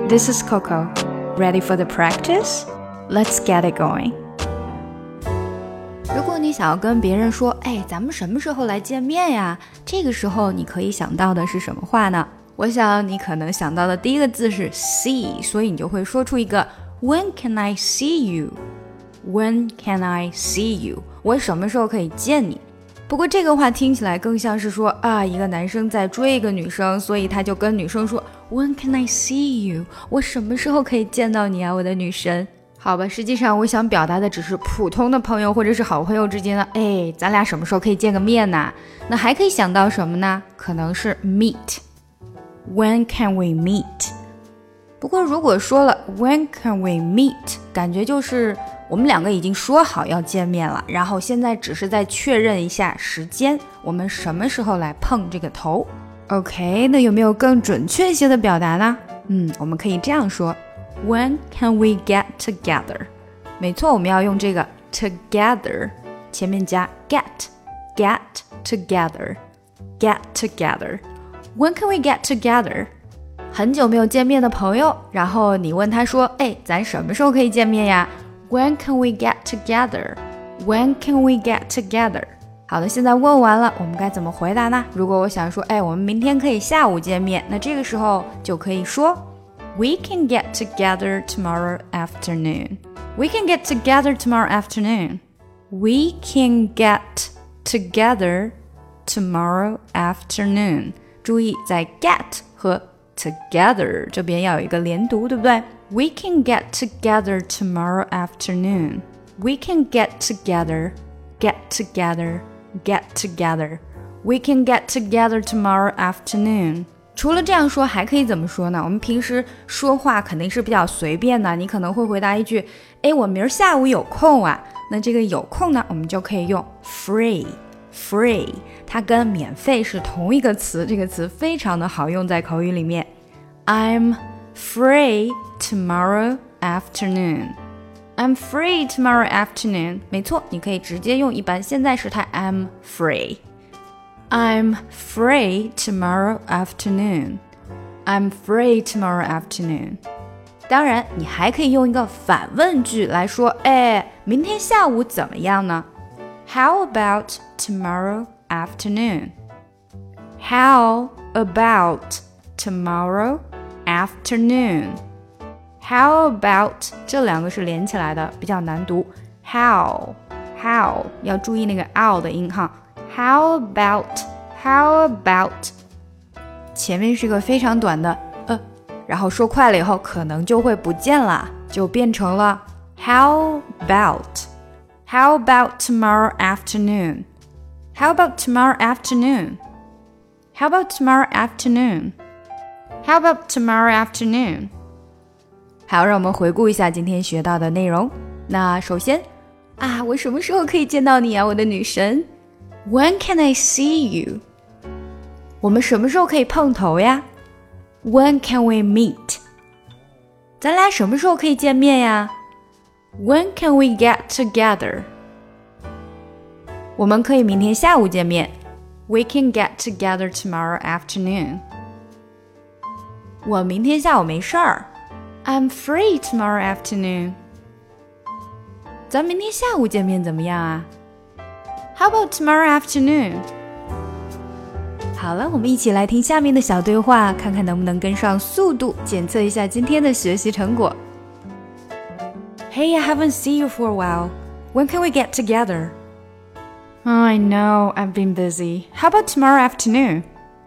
This is Coco. Ready for the practice? Let's get it going. 如果你想要跟别人说，咱们什么时候来见面呀？这个时候你可以想到的是什么话呢？我想你可能想到的第一个字是 see， 所以你就会说出一个 When can I see you? When can I see you? 我什么时候可以见你？不过这个话听起来更像是说一个男生在追一个女生，所以他就跟女生说 When can I see you? 我什么时候可以见到你啊，我的女神？好吧，实际上我想表达的只是普通的朋友或者是好朋友之间的，咱俩什么时候可以见个面呢？那还可以想到什么呢？可能是 meet. When can we meet? 不过如果说了 When can we meet? 感觉就是我们两个已经说好要见面了，然后现在只是在确认一下时间，我们什么时候来碰这个头。 OK， 那有没有更准确一些的表达呢？我们可以这样说 When can we get together? 没错，我们要用这个 together 前面加 get together. When can we get together? 很久没有见面的朋友，然后你问他说咱什么时候可以见面呀？ When can we get together? When can we get together? 好的，现在问完了，我们该怎么回答呢？如果我想说我们明天可以下午见面，那这个时候就可以说 We can get together tomorrow afternoon. We can get together tomorrow afternoon. We can get together tomorrow afternoon. 注意在 get 和 together 这边要有一个连读，对不对？ We can get together tomorrow afternoon. We can get together. We can get together tomorrow afternoon. 除了这样说还可以怎么说呢？我们平时说话肯定是比较随便的，你可能会回答一句我明儿下午有空啊。那这个有空呢，我们就可以用 free. 它跟免费是同一个词，这个词非常的好用在口语里面。 I'm free tomorrow afternoon. I'm free tomorrow afternoon. 没错，你可以直接用一般现在时态 I'm free. I'm free tomorrow afternoon. I'm free tomorrow afternoon. 当然你还可以用一个反问句来说明天下午怎么样呢？ How about tomorrow afternoon? How about tomorrow afternoon? How about 这两个是连起来的，比较难读。 How 要注意那个 ow 的音哈。 How about 前面是个非常短的然后说快了以后可能就会不见了，就變成了 How about tomorrow afternoon? How about tomorrow afternoon? How about tomorrow afternoon? How about tomorrow afternoon? 好，让我们回顾一下今天学到的内容。那首先我什么时候可以见到你啊，我的女神？ When can I see you? 我们什么时候可以碰头呀？ When can we meet? 咱俩什么时候可以见面呀？ When can we get together? 我们可以明天下午见面。 We can get together tomorrow afternoon. 我明天下午没事儿。I'm free tomorrow afternoon. 咱明天下午见面怎么样啊？ How about tomorrow afternoon? 好了，我们一起来听下面的小对话，看看能不能跟上速度，检测一下今天的学习成果。 Hey, I haven't seen you for a while. When can we get together? I know, I've been busy. How about tomorrow afternoon?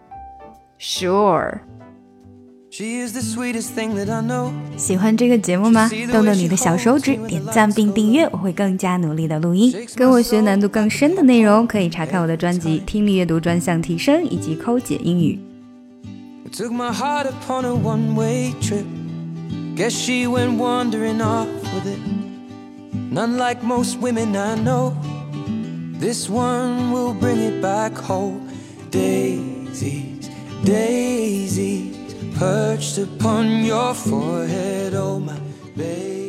Sure.She is the sweetest thing that I know. 喜欢这个节目吗？动动你的小手指，点赞并订阅，我会更加努力的录音。跟我学难度更深的内容，可以查看我的专辑《听力阅读专项提升》以及抠解英语。 Took my heart upon a one-way trip. Guess she went wandering off with it. None like most women I know. This one will bring it back home. Daisies, daisies.Perched upon your forehead, oh my baby.